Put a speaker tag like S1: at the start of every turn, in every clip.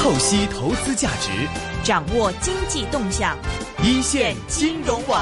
S1: 透析投資價值，
S2: 掌握經濟動向，
S1: 一線金融網。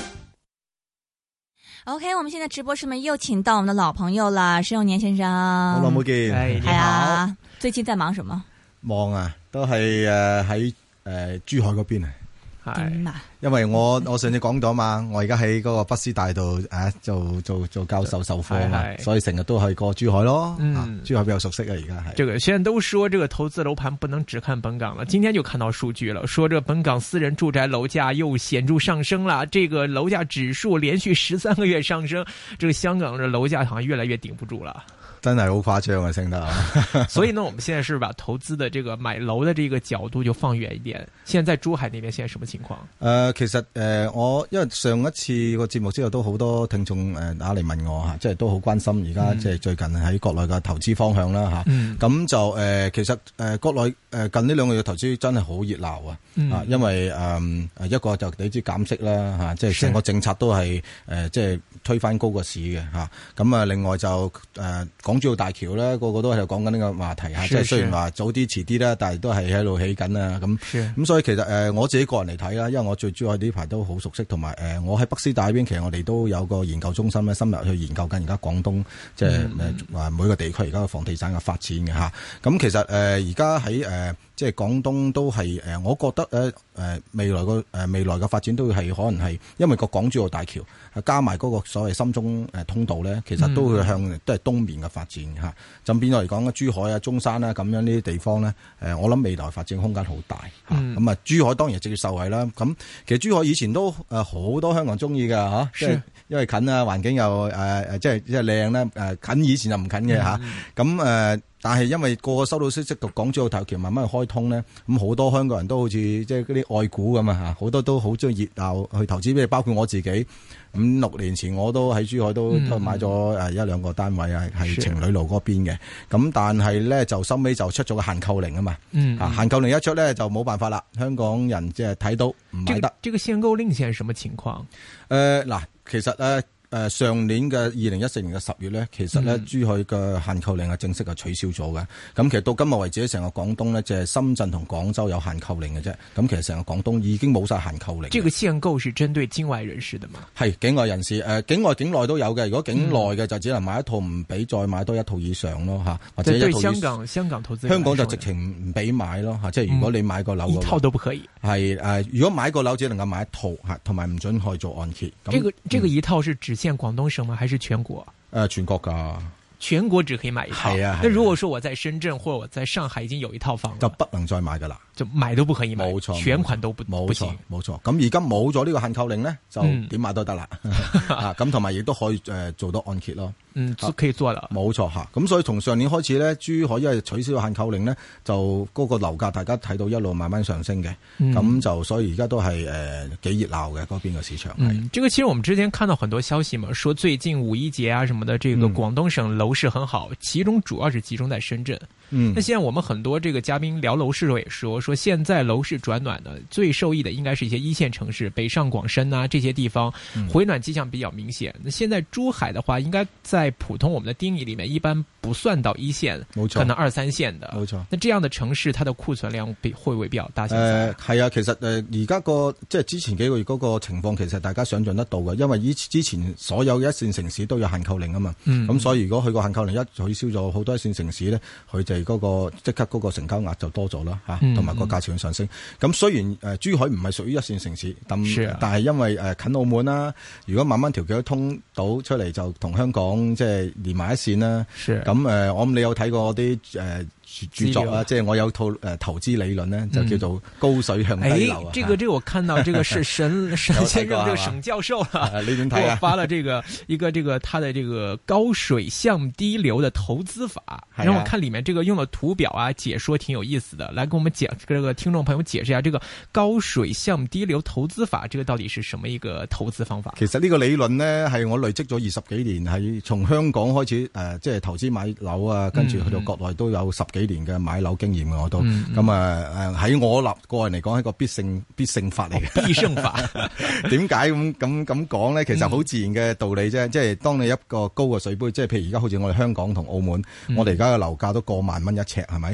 S2: OK， 我們現在直播室們又請到我們的老朋友啦，施永年先生。
S3: 好耐冇見，
S2: 係啊，最近在忙什麼？
S3: 忙啊，都係喺珠海嗰邊啊。
S2: 係，
S3: 因為我上次講咗嘛，我而家喺嗰個北師大度做教授授課嘛，所以成日都係過珠海咯。珠海比較熟悉啊，而家係。
S4: 這個現在都說這個投資樓盤不能只看本港了，今天就看到數據了，說這個本港私人住宅樓價又顯著上升了，這個樓價指數連續13個月上升，這個香港的樓價好像越來越頂不住了。
S3: 真係好誇張啊，升得。
S4: 所以呢，我們現在是把投資的這個買樓的這個角度就放遠一點。現在在珠海那邊現在什麼情況？
S3: 其實我因為上一次個節目之後都好多聽眾打嚟問我吓，即係都好關心而家即係最近喺國內嘅投資方向啦吓。咁就其實國內近呢2個月投資真係好熱鬧啊！因為一個就你知減息啦吓，即係成個政策都係即係推翻高個市嘅吓。咁啊，另外就港珠澳大橋咧，個個都喺度講緊呢個話題吓，即係雖然話早啲遲啲啦，但係都係喺度起緊啊。咁所以其實我自己個人嚟睇啦，因為我對珠海呢排都好熟悉，同埋我喺北師大邊，其實我哋都有個研究中心咧，深入去研究緊而家廣東即係每個地區而家嘅房地產嘅發展嘅吓。咁其實而家喺即係廣東都係我覺得未來嘅發展都係可能係因為個港珠澳大橋加埋嗰個所謂深中通道咧，其實都會都係東面嘅發展嚇。咁變咗嚟講珠海啊、中山啊咁樣呢啲地方咧，我諗未來發展空間好大嚇。咁啊，珠海當然直接受惠啦。咁其實珠海以前都好多香港中意㗎嚇，即係因為近啊，環境又即係靚啦。近以前就唔近嘅嚇。咁但係因為個個收到消息，個港珠澳大橋慢慢去開通咧，咁好多香港人都好似即係嗰啲愛股咁啊嚇，好多都好中意熱鬧去投資，即係包括我自己。5-6年前我都喺珠海都買咗1-2個單位啊，係情侶路嗰邊嘅。咁但係咧就收尾就出咗個限購令啊嘛。限購令一出咧就冇辦法啦，香港人即係睇到唔買得。
S4: 這個限購令現在什麼情況？
S3: 嗱，其實上年嘅2014年嘅10月咧，其實咧珠海嘅限購令係正式係取消咗嘅。咁其實到今日為止，成個廣東咧，就係深圳同廣州有限購令嘅啫。咁其實成個廣東已經冇晒限購令。
S4: 這個限購是針對境外人士的嘛？
S3: 係境外人士，境外境內都有嘅。如果境內嘅就只能買一套，唔俾再買多一套以上咯嚇，或者一套以上。
S4: 香港投資
S3: 香港就直情唔俾買咯嚇，即係如果你買個樓，
S4: 一套都不可以。
S3: 係如果買個樓只能夠買一套嚇，同埋唔准可以做按揭。
S4: 這個一套是只限廣東省嗎？還是全國？
S3: 全國㗎。
S4: 全國只可以買一套。係啊。那如果說我在深圳或者我在上海已經有一套房，
S3: 就不能再買㗎啦。
S4: 就買都不可以買。
S3: 冇錯。
S4: 全款都不行。
S3: 冇錯。咁而家冇咗呢個限購令咧，就點買都得啦。咁同埋亦都可以做到按揭咯。
S4: 可以做啦。冇
S3: 錯嚇。咁所以從上年開始咧，珠海因為取消限購令咧，就嗰個樓價大家睇到一路慢慢上升嘅。咁就所以而家都係幾熱鬧嘅嗰邊嘅市場。
S4: 這個其實我們之前看到很多消息嘛，說最近五一節啊什麼的，這個廣東省樓市很好，其中主要是集中在深圳。那現在我們很多這個嘉賓聊樓市的時候也說現在樓市轉暖呢，最受益的應該是一些一線城市，北上廣深啊這些地方回暖跡象比較明顯。那現在珠海的話，應該在普通我們的定義裏面，一般不算到一線，可能2、3線的。冇錯。那這樣的城市，它的庫存量會不會比較大？
S3: 係啊，其實而家即係之前幾個月嗰個情況，其實大家想象得到嘅，因為之前所有一線城市都有限購令啊嘛。咁所以如果佢個限購令一取消咗，好多一線城市咧，佢哋嗰個即刻嗰個成交額就多咗啦嚇，同埋個價錢上升。咁雖然珠海唔係屬於一線城市，但係因為近澳門啦，如果慢慢條橋通到出嚟，就同香港即係連埋一線啦。咁我諗你有睇過啲著作啊，即係我有套投資理論呢，就叫做高水向低流啊。
S4: 這個我看到，這個是沈先生，這個沈教授啦，
S3: 你點睇啊？
S4: 我發了這個一個他的這個高水向低流的投資法，然後我看裏面這個用的圖表啊，解說挺有意思的，來給我們講這個聽眾朋友解釋一下，這個高水向低流投資法，這個到底是什麼一個投資方法？
S3: 其實呢個理論呢，係我累積咗20幾年，係從香港開始即係投資買樓啊，跟住去到國內都有10幾年嘅買樓經驗嘅我都，咁喺我個人嚟講係一個必勝法嚟嘅。必勝法點解咁講咧？其實好自然嘅道理啫，即係當你一個高嘅水杯，即係譬如而家好似我哋香港同澳門，我哋而家嘅樓價都過萬蚊一尺，係咪？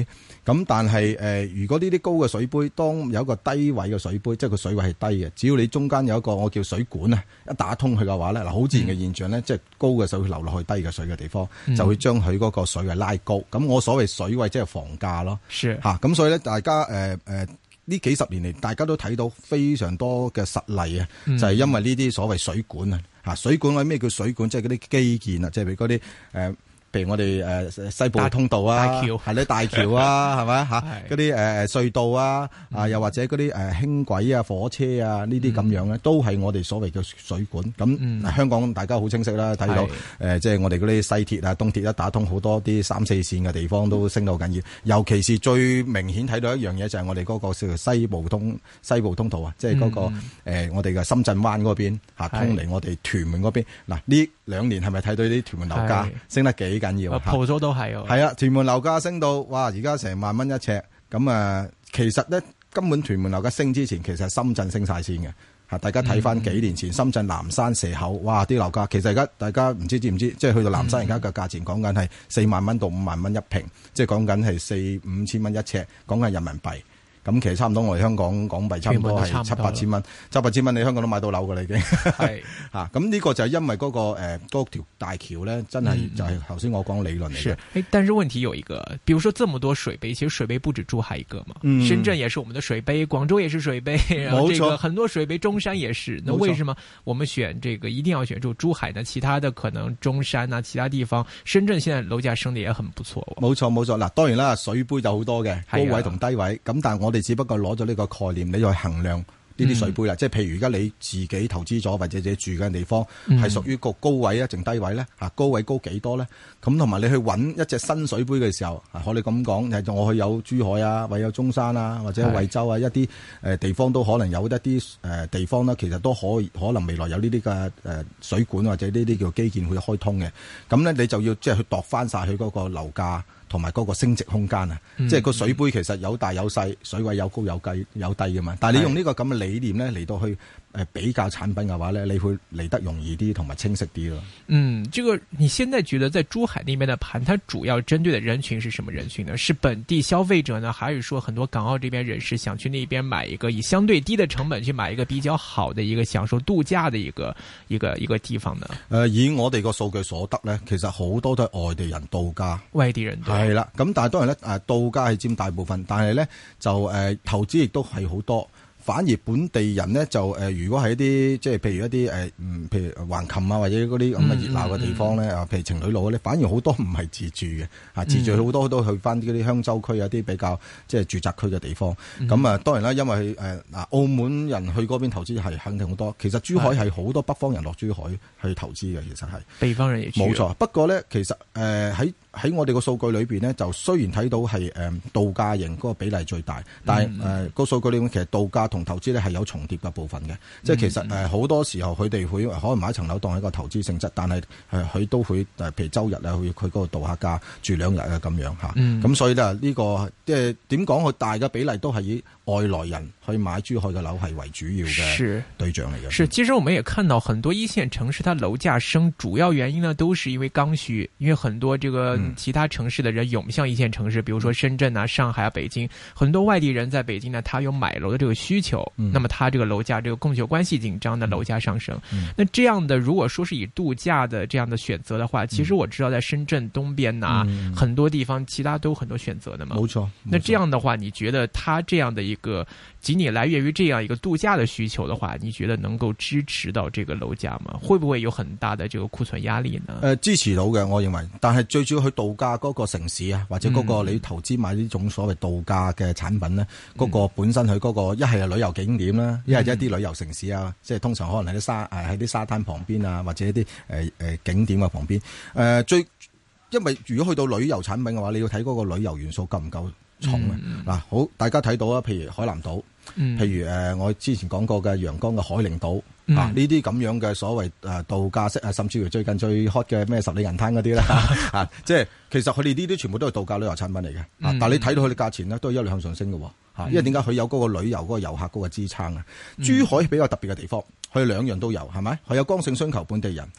S3: 咁但係如果呢啲高嘅水杯，當有一個低位嘅水杯，即係個水位係低嘅，只要你中間有一個我叫水管啊，一打通佢嘅話咧，嗱好自然嘅現象咧，即係高嘅水會流落去低嘅水嘅地方，就會將佢嗰個水位拉高。咁我所謂水位即係房價咯，咁所以咧，大家呢幾十年嚟，大家都睇到非常多嘅實例啊，就係因為呢啲所謂水管啊，水管咩叫水管？即係嗰啲基建啊，即係譬如嗰啲譬如我哋西部通道啊，係啲大橋啊，係咪嗰啲隧道啊，又或者嗰啲輕軌啊、火車啊呢啲咁樣咧，都係我哋所謂嘅水管。咁香港大家好清晰啦，睇到即係我哋嗰啲西鐵啊、東鐵一打通，好多啲3、4線嘅地方都升到緊要。尤其是最明顯睇到一樣嘢就係我哋嗰個叫做西部通道啊，即係嗰個我哋嘅深圳灣嗰邊通嚟我哋屯門嗰邊。嗱呢2年係咪睇到啲屯門樓價升得幾緊要？
S4: 鋪租都係
S3: 係啊，屯門樓價升到哇，而家成萬蚊一尺。咁其實咧根本屯門樓價升之前，其實係深圳升晒先嘅嚇。大家睇翻幾年前深圳南山蛇口，哇啲樓價其實而家大家唔知唔知，即係去到南山而家嘅價錢講緊係4萬蚊到5萬蚊一平，即係講緊係4-5千蚊一尺，講緊人民幣。咁其實差唔多，我哋香港港幣差唔多係7-8千蚊，7-8千蚊你香港都買到樓㗎啦已經。係嚇，咁呢個就係因為嗰條大橋咧，真係就係頭先我講理論嚟嘅。
S4: 但是問題有一個，比如說這麼多水杯，其實水杯不止珠海一個嘛，深圳也是我們的水杯，廣州也是水杯，然後這個很多水杯，中山也是。那為什麼我們選這個一定要選住珠海呢？其他的可能中山啊，其他地方，深圳現在樓價升得也很不錯。
S3: 冇錯冇錯，嗱當然啦，水杯就好多嘅，高位同低位，咁但係我哋只不過攞咗呢個概念，你去衡量呢啲水杯啦。即係譬如而家你自己投資咗或者自己住嘅地方係屬於個高位啊，定低位咧？高位高幾多咧？咁同埋你去揾一隻新水杯嘅時候，可你咁講，我去有珠海啊，或者有中山啊，或者惠州啊，一啲地方都可能有一啲地方呢，其實都可能未來有呢啲嘅水管或者呢啲叫基建會開通嘅。咁咧你就要即係去度翻晒佢嗰個樓價同埋嗰個升值空間啊！即係個水杯其實有大有細，水位有高有低嘅嘛。但係你用呢個咁嘅理念咧嚟到去比較產品嘅話咧，你會嚟得容易啲同埋清晰啲咯。
S4: 這個你現在覺得在珠海那邊的盤，它主要針對的人群是什麼人群呢？是本地消費者呢，還是說很多港澳這邊人士想去那邊買一個以相對低的成本去買一個比較好的一個享受度假的一個地方呢？
S3: 以我哋個數據所得咧，其實好多都係外地人度假，
S4: 外地人
S3: 係啦。咁但係當然咧，度假係佔大部分，但係咧就投資亦都係好多。反而本地人咧就如果係一啲即係譬如一啲譬如橫琴啊或者嗰啲咁嘅熱鬧嘅地方咧，譬如情侶路咧，反而好多唔係自住嘅，自住好多都去翻嗰啲鄉州區有啲比較即係住宅區嘅地方。咁當然啦，因為澳門人去嗰邊投資係肯定好多。其實珠海係好多北方人落珠海去投資嘅，其實係
S4: 北方人亦
S3: 冇錯。不過咧，其實喺我哋個數據裏邊呢，就雖然睇到係度假型嗰個比例最大，但係個數據裏面其實度假同投資咧係有重疊嘅部分嘅。即係其實好多時候佢哋會可能買一層樓當係一個投資性質，但係佢都會譬如週日啊去佢嗰度度下假住2日啊咁樣嚇。咁所以咧呢個即係點講？佢大嘅比例都係以外來人去買珠海嘅樓係為主要嘅對象嚟嘅。
S4: 是，其實我們也看到很多一線城市，它樓價升主要原因呢，都是因為剛需，因為很多這個其他城市的人湧向一線城市，比如說深圳啊、上海啊、北京，很多外地人在北京呢，他有買樓的這個需求，那麼他這個樓價這個供求關係緊張的樓價上升。那這樣的如果說是以度假的這樣的選擇的話，其實我知道在深圳東邊啊，很多地方其他都有很多選擇的嘛。
S3: 冇錯。
S4: 那這樣的話，你覺得他這樣的一個僅僅來源於這樣一個度假的需求的話，你覺得能夠支持到這個樓價嗎？會不會有很大的這個庫存壓力呢？
S3: 支持到嘅，我認為。但係最主要去度假嗰個城市啊，或者嗰個你投資買呢種所謂度假嘅產品呢，嗰個本身佢嗰個一係旅遊景點啦，一係一啲旅遊城市啊，即係通常可能喺啲沙灘旁邊啊，或者一啲景點嘅旁邊。因為如果去到旅遊產品嘅話，你要睇嗰個旅遊元素夠唔夠重啊？嗱，好，大家睇到啊，譬如海南島，譬如我之前講過嘅陽江嘅海陵島。呢啲咁樣嘅所謂度假式啊，甚至乎最近最 hot 嘅咩十里銀灘嗰啲啦，即係其實佢哋呢啲全部都係度假旅遊產品嚟嘅。但係你睇到佢哋價錢呢，都係一路向上升嘅。因為點解佢有嗰個旅遊嗰個遊客嗰個支撐啊？珠海比較特別嘅地方，佢兩樣都有，係咪？佢有剛性需求本地人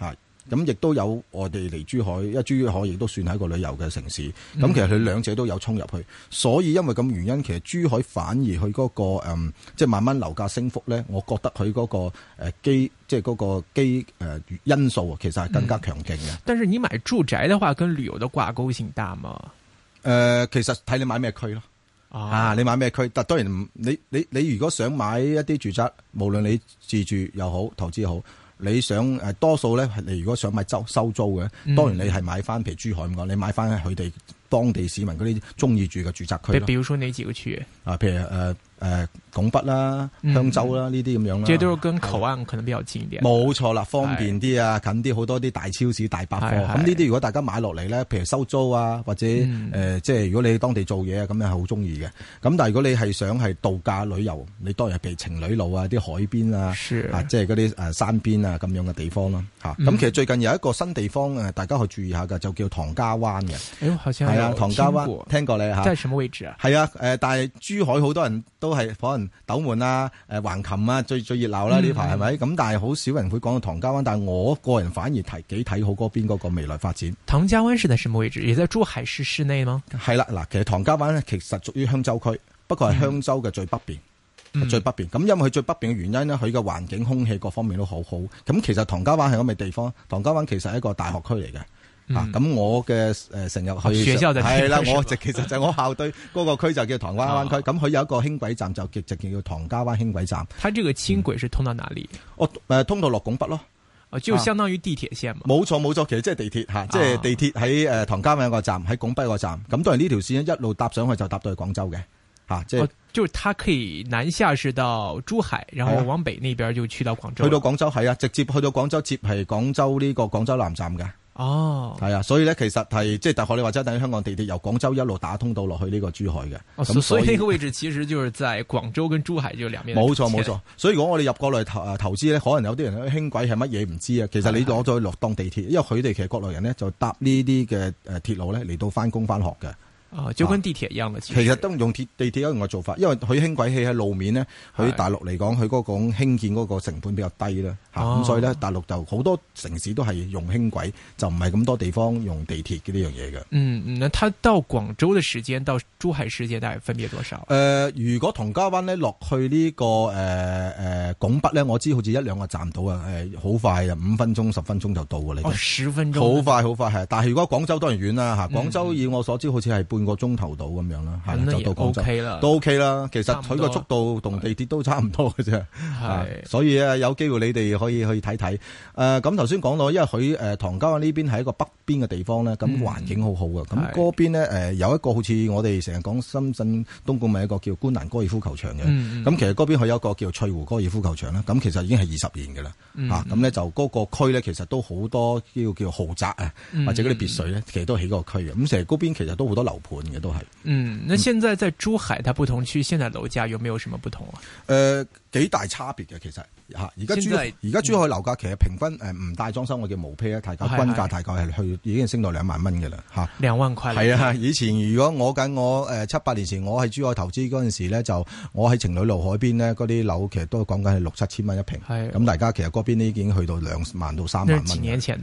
S3: 咁亦都有我哋嚟珠海，因為珠海亦都算係一個旅遊嘅城市。咁其實佢兩者都有衝入去，所以因為咁原因，其實珠海反而佢嗰個即係慢慢樓價升幅咧，我覺得佢嗰個即係嗰個因素其實係更加強勁嘅。
S4: 但是你買住宅嘅話，跟旅遊嘅掛鈎性大嗎？
S3: 其實睇你買咩區咯。你買咩區？但當然你如果想買一啲住宅，無論你自住又好，投資又好，你想多數咧，你如果想買收租嘅，當然你係買翻譬如珠海咁講，你買翻佢哋當地市民嗰啲中意住嘅住宅區咯。
S4: 比如說哪幾個區？
S3: 譬如拱北啦、香洲啦呢啲咁樣啦。
S4: 這都是跟口岸可能比較近一點。
S3: 冇錯啦，方便啲啊，近啲，好多啲大超市、大百貨。咁呢啲如果大家買落嚟咧，譬如收租啊，或者即係如果你喺當地做嘢啊，咁樣係好中意嘅。咁但係如果你係想係度假旅遊，你當然係譬如情侶路啊、啲海邊啊，即係嗰啲山邊啊咁樣嘅地方咯。咁其實最近有一個新地方大家可以注意下㗎，就叫唐家灣嘅。係啊，唐家灣聽過你嚇？
S4: 在什麼位置啊？
S3: 係啊，但係珠海好多人都係可能斗門啊、橫琴啊最熱鬧啦呢排係咪？咁但係好少人會講到唐家灣，但係我個人反而幾睇好嗰邊嗰個未來發展。
S4: 唐家灣是在什麼位置？也在珠海市市內嗎？係
S3: 啦，嗱，其實唐家灣咧其實屬於香洲區，不過係香洲嘅最北邊，最北邊。咁因為佢最北邊嘅原因呢，佢嘅環境、空氣各方面都好好。咁其實唐家灣係咁嘅地方，唐家灣其實係一個大學區嚟嘅。咁我嘅成日去
S4: 學校就係
S3: 啦，其實就我校隊嗰個區就叫唐家灣區。咁佢有一個輕軌站就叫唐家灣輕軌站。
S4: 它這個輕軌是通到哪裡？
S3: 通到落拱北咯。
S4: 就相當於地鐵線嘛。
S3: 冇錯，其實即係地鐵嚇，即係地鐵喺唐家灣個站，喺拱北個站。咁當然呢條線一路搭上去就搭到去廣州嘅嚇，即係。
S4: 就是它可以南下是到珠海，然後往北那邊就去到廣州。
S3: 去到廣州係啊，直接去到廣州接係廣州呢個廣州南站嘅。係啊，所以咧其實係即係大學你話齋等於香港地鐵由廣州一路打通到落去呢個珠海嘅。
S4: 咁所以呢個位置其實就是在廣州跟珠海就兩邊。
S3: 冇錯，所以如果我哋入國內投資咧，可能有啲人輕軌係乜嘢唔知啊。其實你攞咗去落當地鐵，因為佢哋其實國內人咧就搭呢啲嘅鐵路咧嚟到翻工翻學嘅。
S4: 就跟地鐵一樣嘅，
S3: 其實都用地鐵一樣嘅做法，因為佢輕軌起喺路面呢，佢大陸嚟講，佢嗰個興建嗰個成本比較低啦，咁所以咧大陸就好多城市都係用輕軌，就唔係咁多地方用地鐵嘅呢樣嘢嘅。
S4: 那他到廣州嘅時間到珠海時間大概分別多少？
S3: 如果唐家灣咧落去呢個拱北咧，我知好似1-2個站到啊，好快啊，5分鐘10分鐘就到㗎啦。
S4: 10分鐘，
S3: 好快係。但係如果廣州當然遠啦嚇，廣州以我所知好似係半個鐘頭到咁樣啦，就到廣州都 OK 啦。其實佢個速度同地鐵都差唔多嘅啫，所以有機會你哋可以去睇睇。咁頭先講到，因為佢唐家灣呢邊係一個北邊嘅地方咧，咁環境好好嘅。咁嗰邊咧有一個好似我哋成日講深圳東莞咪一個叫觀瀾高爾夫球場嘅，咁其實嗰邊佢有一個叫翠湖高爾夫球場啦。咁其實已經係20年嘅啦，咁咧就嗰個區咧其實都好多叫豪宅啊，或者嗰啲別墅咧，其實都起嗰個區嘅。咁成日嗰邊其實都好多樓盤嘅都係。
S4: 那現在在珠海，它不同區現在樓價有沒有什麼不同啊？
S3: 幾大差別嘅其實嚇。而家珠海樓價其實平均唔帶裝修我叫毛坯啊，大概均價大概係去已經升到2萬蚊嘅啦嚇。
S4: 2萬塊
S3: 係啊！以前如果我7-8年前我喺珠海投資嗰陣時咧，就我喺情侶路海邊咧，嗰啲樓其實都講緊係6-7千蚊一平。咁大家其實嗰邊已經去到2萬到3萬蚊。
S4: 幾年前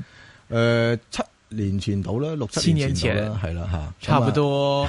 S3: 7年前到啦，6-7年前到啦，係啦嚇，
S4: 差不多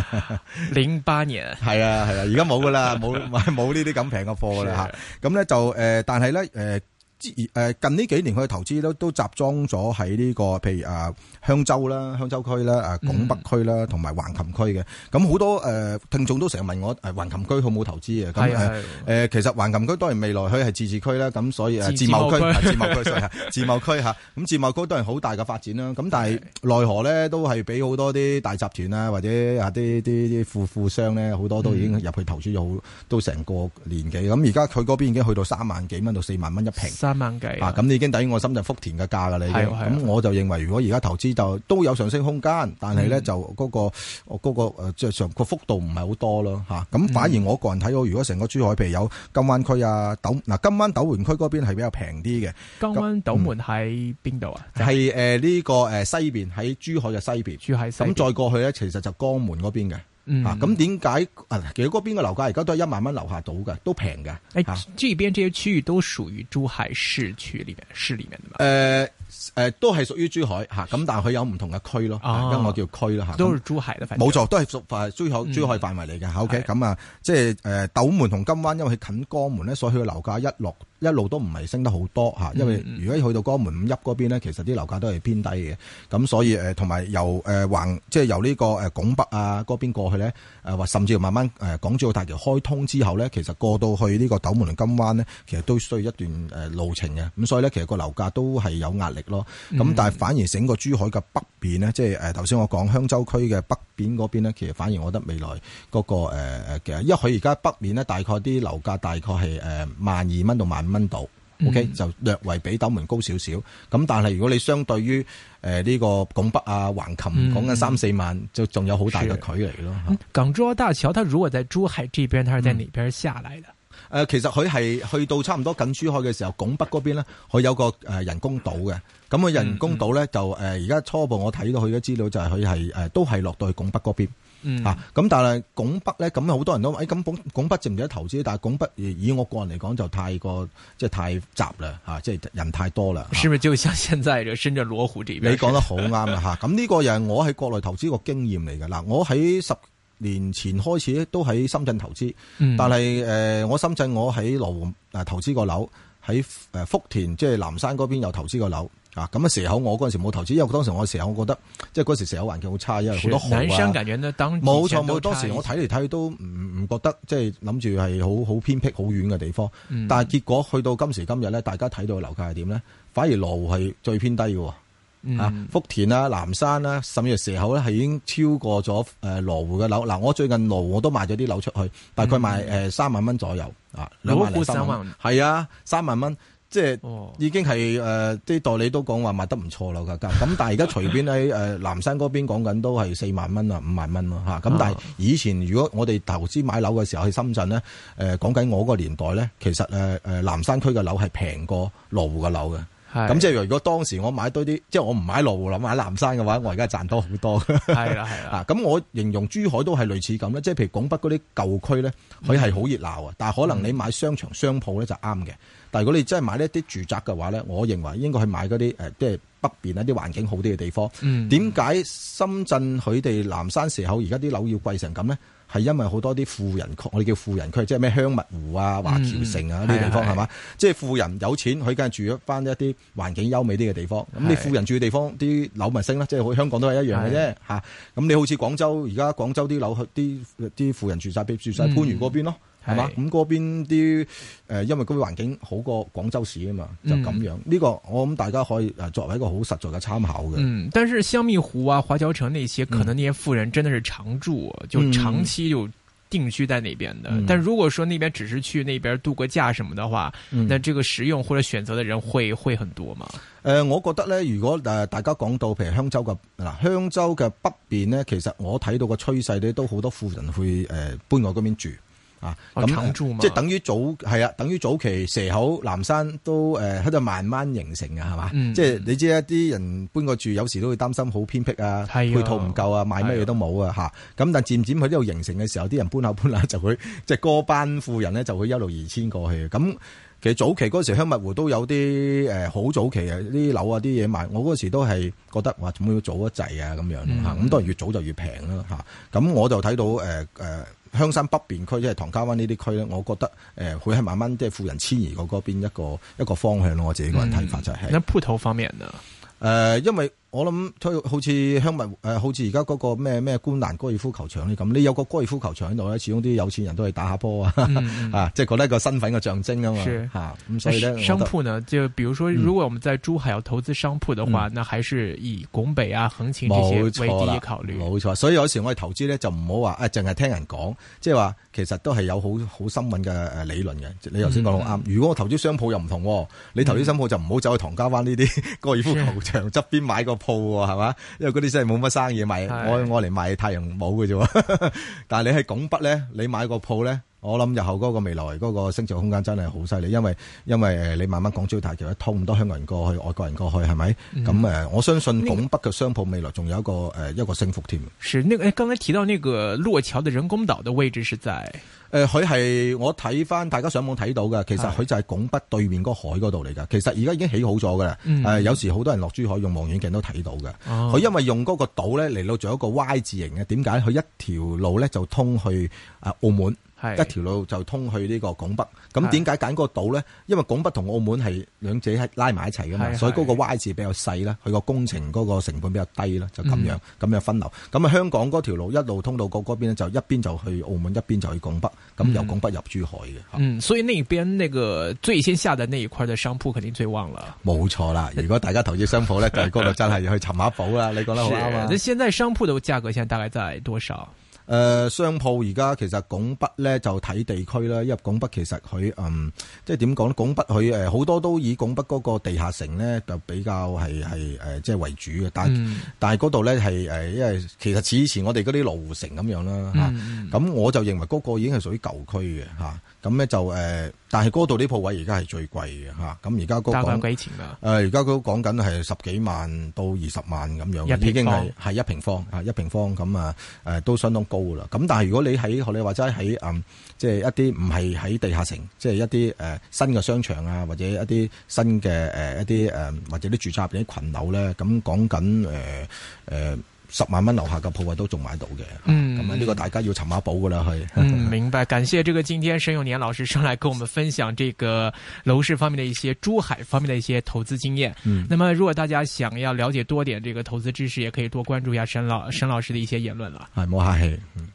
S4: 08年。
S3: 係啊，而家冇噶啦，冇呢啲咁平嘅貨噶啦嚇。咁咧就但係咧近呢幾年佢嘅投資都集中咗喺呢個譬如香洲啦、香洲區啦、拱北區啦，同埋橫琴區嘅。咁好多聽眾都成日問我橫琴區好冇投資嘅。咁其實橫琴區當然未來佢係自治區啦，咁所以自貿區嚇。咁自貿區當然好大嘅發展啦。咁但係奈何咧都係俾好多啲大集團啊，或者啲富商咧，好多都已經入去投資咗都成個年幾。咁而家佢嗰邊已經去到3萬幾蚊到4萬蚊一平。
S4: 3萬幾
S3: 咁已經抵我深圳福田嘅價㗎啦，已經。咁我就認為，如果而家投資就都有上升空間，但係咧就嗰個即係上個幅度唔係好多咯嚇。咁反而我個人睇到，如果成個珠海譬如有金灣區啊、金灣斗門區嗰邊係比較平啲嘅。
S4: 金灣斗門喺邊度啊？
S3: 係呢個西邊，喺珠海嘅西邊。珠海西邊。咁再過去咧，其實就江門嗰邊嘅。咁點解其實嗰邊嘅樓價而家都係1萬蚊樓下到嘅，都平嘅。
S4: 這邊這些區域都屬於珠海市區裏面的嘛？
S3: 都係屬於珠海嚇，咁但係佢有唔同嘅區咯，因為我叫區啦嚇。
S4: 都係珠海嘅，
S3: 冇錯，都係屬珠海範圍嚟嘅。OK， 咁啊，即係斗門同金灣，因為佢近江門咧，所以佢嘅樓價一路都唔係升得好多嚇。因為如果去到江門五邑嗰邊咧，其實啲樓價都係偏低嘅。咁所以同埋由即係由呢個拱北啊嗰邊過去咧，或甚至慢慢港珠澳大橋開通之後咧，其實過到去呢個斗門同金灣咧，其實都需要一段路程嘅。咁所以咧，其實個樓價都係有壓力咯。咁但係反而整個珠海嘅北邊咧，即係頭先我講香洲區嘅北邊嗰邊咧，其實反而我覺得未來嗰個嘅，因為佢而家北面咧大概啲樓價大概係12,000蚊到15,000蚊度，OK 就略為比斗門高少少。咁但係如果你相對於呢個拱北啊、橫琴講緊3-4萬，就仲有好大嘅距離咯。
S4: 港珠澳大橋，它如果在珠海這邊，它是在哪邊下來的？
S3: 其實佢係去到差唔多近珠海嘅時候，拱北嗰邊咧，佢有個人工島嘅。咁佢人工島咧就而家初步我睇到佢嘅資料就係佢係都係落到去拱北嗰邊。咁但係拱北咧，咁好多人都咁拱北值唔值得投資？但係拱北以我個人嚟講就太過即係太雜啦嚇，即係人太多啦。
S4: 是咪就像現在嘅深圳羅湖這邊？
S3: 你講得好啱啊嚇！咁呢個又係我喺國內投資個經驗嚟嘅嗱，我喺10年前開始都喺深圳投資，但係我深圳我喺羅湖投資過樓，喺福田即係南山嗰邊又投資過樓啊。咁蛇口我嗰陣時冇投資，因為當時我蛇口我覺得即係嗰時蛇口環境好差，因為好多河啊。南山感覺呢冇錯，當時我睇嚟睇去都唔覺得即係諗住係好偏僻好遠嘅地方，但係結果去到今時今日咧，大家睇到嘅樓價係點咧？反而羅湖係最偏低嘅。福田啊、南山啊，甚至蛇口咧，係已經超過咗羅湖嘅樓。嗱，我最近羅湖我都賣咗啲樓出去，大概賣3萬蚊左右啊，2萬零3萬。係啊，3萬蚊，即係已經係啲代理都講話賣得唔錯啦價格。咁但係而家隨便喺南山嗰邊講緊都係4萬蚊啊、5萬蚊咯嚇。咁但係以前如果我哋投資買樓嘅時候去深圳咧，講緊我個年代咧，其實南山區嘅樓係平過羅湖嘅樓嘅。咁即係如果當時我買多啲，即係我唔買羅湖啦，買南山嘅話，我而家賺多好多。係啦。咁我形容珠海都係類似咁咧，即係譬如拱北嗰啲舊區咧，佢係好熱鬧啊，但係可能你買商場商鋪咧就啱嘅。但係如果你真係買呢啲住宅嘅話咧，我認為應該去買嗰啲即係北邊一啲環境好啲嘅地方。點解深圳佢哋南山蛇口而家啲樓要貴成咁咧？係因為好多啲富人區，我哋叫富人區，即係咩香蜜湖啊、華僑城啊呢啲地方係嘛？即係富人有錢，佢梗係住咗翻一啲環境優美啲嘅地方。咁你富人住嘅地方，啲樓咪升啦，即係好似香港都係一樣嘅啫嚇。咁你好似廣州，而家廣州啲樓啲富人住晒番禺嗰邊咯。係嘛？咁嗰邊啲因為嗰啲環境好過廣州市啊嘛，就咁樣。呢個我諗大家可以作為一個好實在嘅參考嘅。
S4: 但是香蜜湖啊、華僑城那些，可能那些富人真的是常住，就長期就定居在那邊的。但如果說那邊只是去那邊度個假什麼的話，那這個實用或者選擇的人會很多嘛？
S3: 我覺得咧，如果大家講到譬如香洲嘅北邊咧，其實我睇到個趨勢咧，都好多富人去搬過嗰邊住。咁即係等於早期蛇口南山都喺度慢慢形成嘅係嘛？即係你知一啲人搬過住，有時都會擔心好偏僻啊，配套唔夠啊，買乜嘢都冇啊嚇。咁但漸漸佢呢度形成嘅時候，啲人搬下就會即係嗰班富人咧就會一路移遷過去。咁其實早期嗰時香蜜湖都有啲好早期啊啲樓啊啲嘢賣，我嗰時都係覺得話點解要早一滯啊咁樣嚇。咁當然越早就越平啦嚇。咁我就睇到香山北邊區即係唐家灣呢啲區咧，我覺得會係慢慢即係富人遷移過嗰邊一個方向咯。我自己個人睇法就係。
S4: 那鋪頭方面呢？
S3: 因為我諗好似香蜜好似而家嗰個咩觀瀾高爾夫球場呢咁，你有個高爾夫球場喺度咧，始終啲有錢人都係打下波啊，即係覺得一個身份嘅象徵啊嘛。咁所以咧，
S4: 商鋪呢，就比如說，如果我們在珠海要投資商鋪的話，那還是以拱北啊、橫琴這些為第一考慮。
S3: 冇錯，所以有時我哋投資咧就唔好話淨係聽人講，即係話其實都係有好深穩嘅理論嘅。你頭先講得好啱。如果我投資商鋪又唔同，你投資商鋪就唔好走去唐家灣呢啲高爾夫球場側邊買個鋪係嘛？因為嗰啲真係冇乜生意賣，我嚟賣太陽帽嘅啫。但係你喺拱北咧，你買個鋪咧， 我諗日後嗰個未來嗰個升值空間真係好犀利，因為你慢慢港珠澳大橋一通，咁多香港人過去，外國人過去，係咪？咁我相信拱北嘅商鋪未來仲有一個升幅添。
S4: 是，剛才提到那個落橋的人工島的位置是在？
S3: 佢係我睇翻大家上網睇到嘅，其實佢就係拱北對面嗰海嗰度嚟噶。其實而家已經起好咗噶啦。有時好多人落珠海用望遠鏡都睇到嘅。佢因為用嗰個島咧嚟到做一個 Y 字形嘅，點解？佢一條路咧就通去澳門。一條路就通去呢個拱北，咁點解揀嗰個島咧？因為拱北同澳門係兩者係拉埋一齊噶嘛，所以嗰個 Y 字比較細啦，佢個工程嗰個成本比較低啦，就咁樣分流。咁香港嗰條路一路通到嗰邊咧，就一邊就去澳門，一邊就去拱北，咁由拱北入珠海嘅。
S4: 所以那邊那個最先下的那一塊的商鋪肯定最旺啦。
S3: 冇錯啦，如果大家投資商鋪咧，就係嗰度真係要去尋下寶啦。你講得好啱啊！
S4: 那現在商鋪的價格現在大概在多少？
S3: 商鋪而家其實拱北咧就睇地區啦，因為拱北其實佢即係點講咧？拱北佢好多都以拱北嗰個地下城咧就比較係即係為主嘅，但係嗰度咧係因為其實似以前我哋嗰啲羅湖城咁樣啦嚇，咁我就認為嗰個已經係屬於舊區嘅嚇，咁咧就但係嗰度啲鋪位而家係最貴嘅嚇，咁而家嗰個幾錢㗎？而家都講緊係10幾萬到20萬咁樣，已經係一平方啊，一平方咁都相當高啦。咁但係如果你喺學你話齋喺即係一啲唔係喺地下城，即係一啲新嘅商場啊，或者一啲新嘅一啲或者啲住宅入邊啲群樓咧，咁講緊10萬蚊樓下嘅鋪位都仲買到嘅。咁呢個大家要尋下寶噶啦，係。
S4: 明白。感謝這個今天沈永年老師上來跟我們分享這個樓市方面的一些珠海方面的一些投資經驗。那麼如果大家想要了解多點這個投資知識，也可以多關注一下沈老師的一些言論啦。
S3: 係，冇客氣。